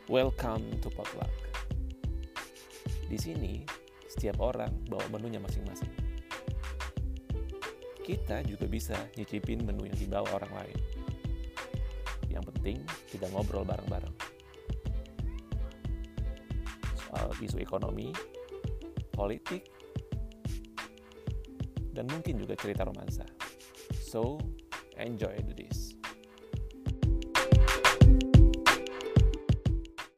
Welcome to Potluck. Di sini, setiap orang bawa menunya masing-masing. Kita juga bisa nyicipin menu yang dibawa orang lain. Yang penting, kita ngobrol bareng-bareng. Soal isu ekonomi, politik, dan mungkin juga cerita romansa. So, enjoy this.